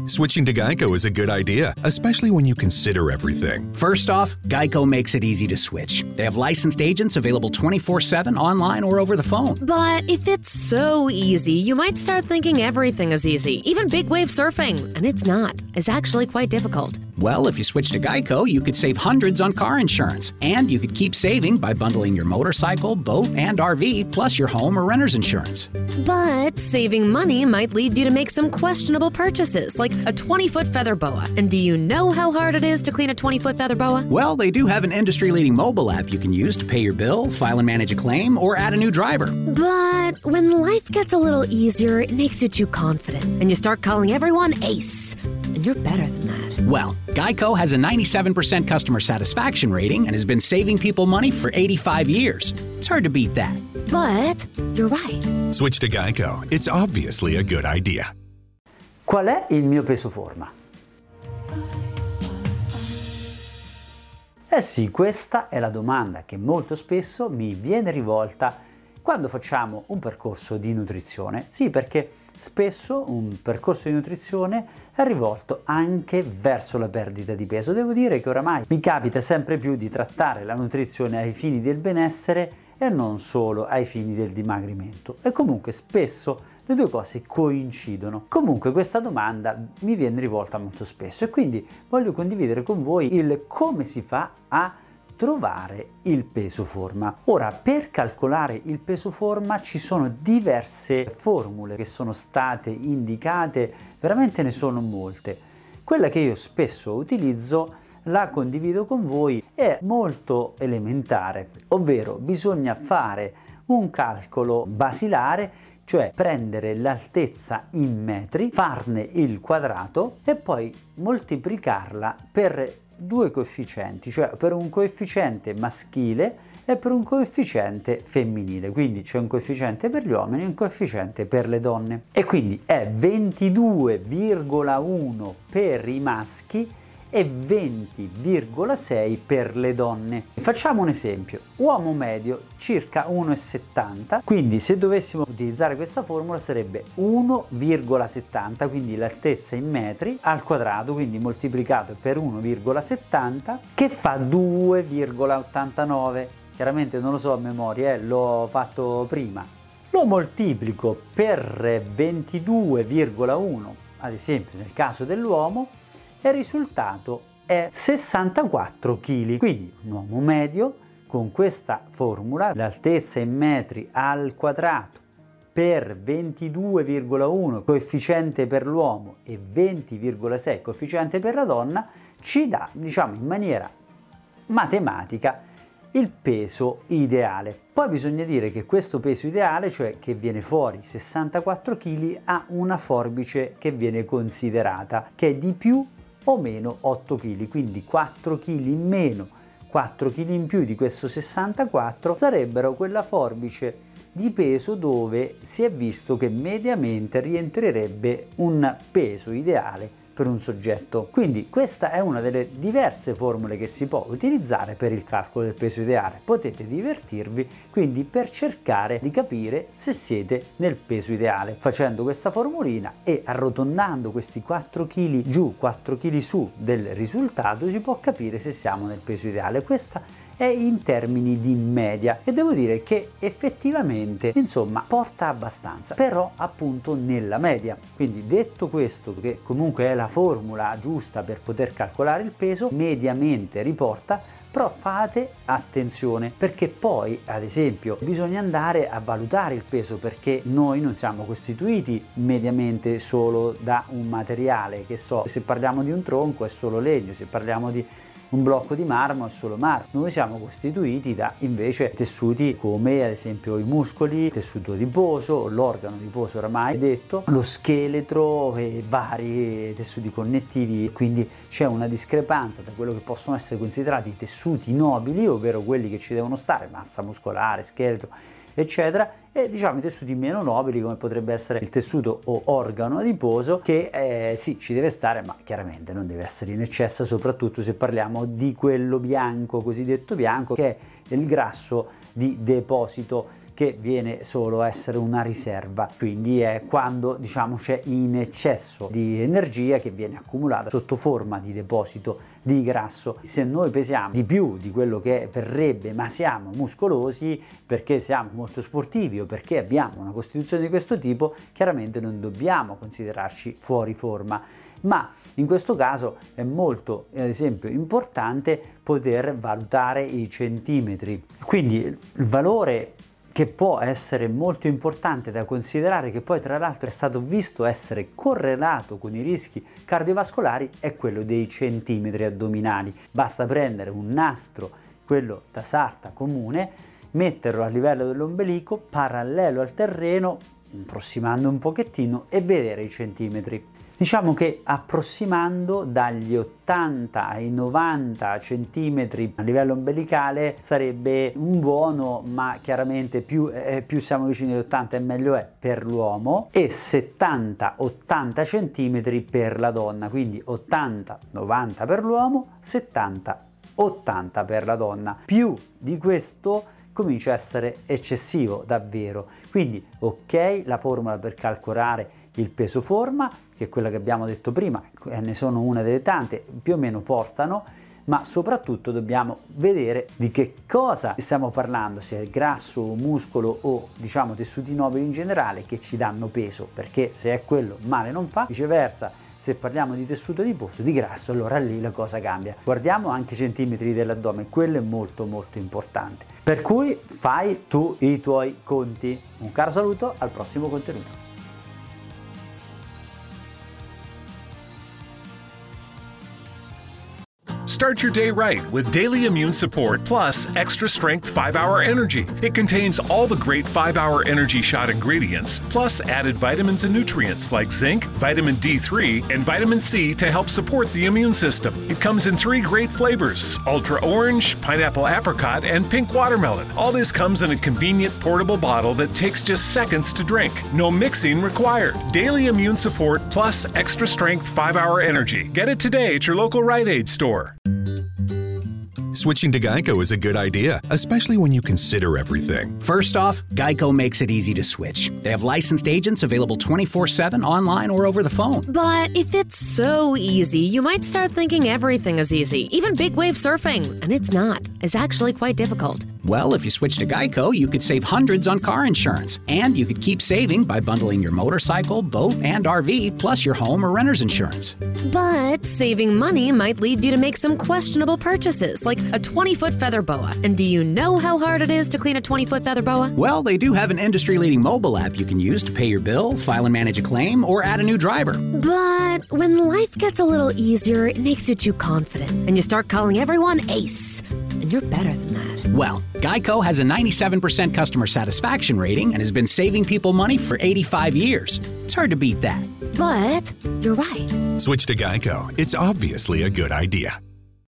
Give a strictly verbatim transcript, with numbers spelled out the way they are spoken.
Switching to Geico is a good idea, especially when you consider everything. First off, Geico makes it easy to switch. They have licensed agents available twenty-four seven online or over the phone. But if it's so easy, you might start thinking everything is easy, even big wave surfing. And it's not. It's actually quite difficult. Well, if you switch to Geico, you could save hundreds on car insurance. And you could keep saving by bundling your motorcycle, boat, and R V, plus your home or renter's insurance. But saving money might lead you to make some questionable purchases, like a twenty-foot feather boa. And do you know how hard it is to clean a twenty-foot feather boa? Well, they do have an industry-leading mobile app you can use to pay your bill, file and manage a claim, or add a new driver. But when life gets a little easier, it makes you too confident, and you start calling everyone Ace. And you're better than that. Well, Geico has a ninety-seven percent customer satisfaction rating and has been saving people money for eighty-five years. It's hard to beat that. But you're right. Switch to Geico. It's obviously a good idea. Qual è il mio peso forma? Eh sì, questa è la domanda che molto spesso mi viene rivolta quando facciamo un percorso di nutrizione. Sì, perché spesso un percorso di nutrizione è rivolto anche verso la perdita di peso. Devo dire che oramai mi capita sempre più di trattare la nutrizione ai fini del benessere e non solo ai fini del dimagrimento. E comunque spesso le due cose coincidono. Comunque questa domanda mi viene rivolta molto spesso e quindi voglio condividere con voi il come si fa a trovare il peso forma. Ora, per calcolare il peso forma ci sono diverse formule che sono state indicate, veramente ne sono molte. Quella che io spesso utilizzo, la condivido con voi, è molto elementare, ovvero bisogna fare un calcolo basilare, cioè prendere l'altezza in metri, farne il quadrato e poi moltiplicarla per due coefficienti, cioè per un coefficiente maschile e per un coefficiente femminile. Quindi c'è un coefficiente per gli uomini e un coefficiente per le donne. E quindi è ventidue virgola uno per i maschi e venti virgola sei per le donne. Facciamo un esempio: uomo medio circa uno virgola settanta, quindi se dovessimo utilizzare questa formula sarebbe uno virgola settanta, quindi l'altezza in metri al quadrato, quindi moltiplicato per uno virgola settanta, che fa due virgola ottantanove. Chiaramente non lo so a memoria, eh, l'ho fatto prima. Lo moltiplico per ventidue virgola uno, ad esempio nel caso dell'uomo, e il risultato è sessantaquattro chili. Quindi un uomo medio con questa formula, l'altezza in metri al quadrato per ventidue virgola uno coefficiente per l'uomo e venti virgola sei coefficiente per la donna, ci dà, diciamo in maniera matematica, il peso ideale. Poi bisogna dire che questo peso ideale, cioè che viene fuori sessantaquattro chili, ha una forbice che viene considerata, che è di più o meno otto chili, quindi quattro chili in meno, quattro chili in più di questo sessantaquattro sarebbero quella forbice di peso dove si è visto che mediamente rientrerebbe un peso ideale per un soggetto. Quindi questa è una delle diverse formule che si può utilizzare per il calcolo del peso ideale. Potete divertirvi quindi per cercare di capire se siete nel peso ideale facendo questa formulina e arrotondando questi quattro chili giù, quattro chili su del risultato si può capire se siamo nel peso ideale. Questa è in termini di media e devo dire che effettivamente insomma porta abbastanza, però appunto nella media. Quindi detto questo, che comunque è la formula giusta per poter calcolare il peso, mediamente riporta, però fate attenzione perché poi ad esempio bisogna andare a valutare il peso, perché noi non siamo costituiti mediamente solo da un materiale, che so, se parliamo di un tronco è solo legno, se parliamo di un blocco di marmo è solo marmo. Noi siamo costituiti da invece tessuti come ad esempio i muscoli, il tessuto adiposo, l'organo adiposo oramai detto, lo scheletro e vari tessuti connettivi, quindi c'è una discrepanza tra quello che possono essere considerati i tessuti nobili, ovvero quelli che ci devono stare, massa muscolare, scheletro eccetera, e diciamo i tessuti meno nobili come potrebbe essere il tessuto o organo adiposo, che eh, sì ci deve stare, ma chiaramente non deve essere in eccesso, soprattutto se parliamo di quello bianco, cosiddetto bianco, che è il grasso di deposito che viene solo a essere una riserva, quindi è quando diciamo c'è in eccesso di energia che viene accumulata sotto forma di deposito di grasso. Se noi pesiamo di più di quello che verrebbe, ma siamo muscolosi perché siamo molto sportivi o perché abbiamo una costituzione di questo tipo, chiaramente non dobbiamo considerarci fuori forma. Ma in questo caso è molto, ad esempio, importante poter valutare i centimetri. Quindi il valore che può essere molto importante da considerare, che poi tra l'altro è stato visto essere correlato con i rischi cardiovascolari, è quello dei centimetri addominali. Basta prendere un nastro, quello da sarta comune, metterlo a livello dell'ombelico, parallelo al terreno, approssimando un pochettino e vedere i centimetri. Diciamo che approssimando dagli ottanta ai novanta centimetri a livello ombelicale sarebbe un buono, ma chiaramente più, eh, più siamo vicini agli ottanta e meglio è per l'uomo, e settanta ottanta centimetri per la donna, quindi ottanta novanta per l'uomo, settanta ottanta per la donna. Più di questo comincia a essere eccessivo davvero. Quindi ok, la formula per calcolare il peso forma, che è quella che abbiamo detto prima, e ne sono una delle tante, più o meno portano, ma soprattutto dobbiamo vedere di che cosa stiamo parlando, se è grasso o muscolo o diciamo tessuti nobili in generale che ci danno peso, perché se è quello male non fa, viceversa se parliamo di tessuto adiposo, di grasso, allora lì la cosa cambia. Guardiamo anche i centimetri dell'addome, quello è molto molto importante. Per cui fai tu i tuoi conti. Un caro saluto, al prossimo contenuto. Start your day right with Daily Immune Support Plus Extra Strength five hour Energy. It contains all the great five hour Energy Shot ingredients, plus added vitamins and nutrients like zinc, vitamin D three, and vitamin C to help support the immune system. It comes in three great flavors: Ultra Orange, Pineapple Apricot, and Pink Watermelon. All this comes in a convenient portable bottle that takes just seconds to drink. No mixing required. Daily Immune Support Plus Extra Strength five hour Energy. Get it today at your local Rite Aid store. Switching to Geico is a good idea, especially when you consider everything. First off, Geico makes it easy to switch. They have licensed agents available twenty-four seven online or over the phone. But if it's so easy, you might start thinking everything is easy, even big wave surfing. And it's not. It's actually quite difficult. Well, if you switch to Geico, you could save hundreds on car insurance. And you could keep saving by bundling your motorcycle, boat, and R V, plus your home or renter's insurance. But saving money might lead you to make some questionable purchases, like a twenty-foot feather boa. And do you know how hard it is to clean a twenty-foot feather boa? Well, they do have an industry-leading mobile app you can use to pay your bill, file and manage a claim, or add a new driver. But when life gets a little easier, it makes you too confident, and you start calling everyone Ace. And you're better than that. Well, Geico has a ninety-seven percent customer satisfaction rating and has been saving people money for eighty-five years. It's hard to beat that. But you're right. Switch to Geico. It's obviously a good idea.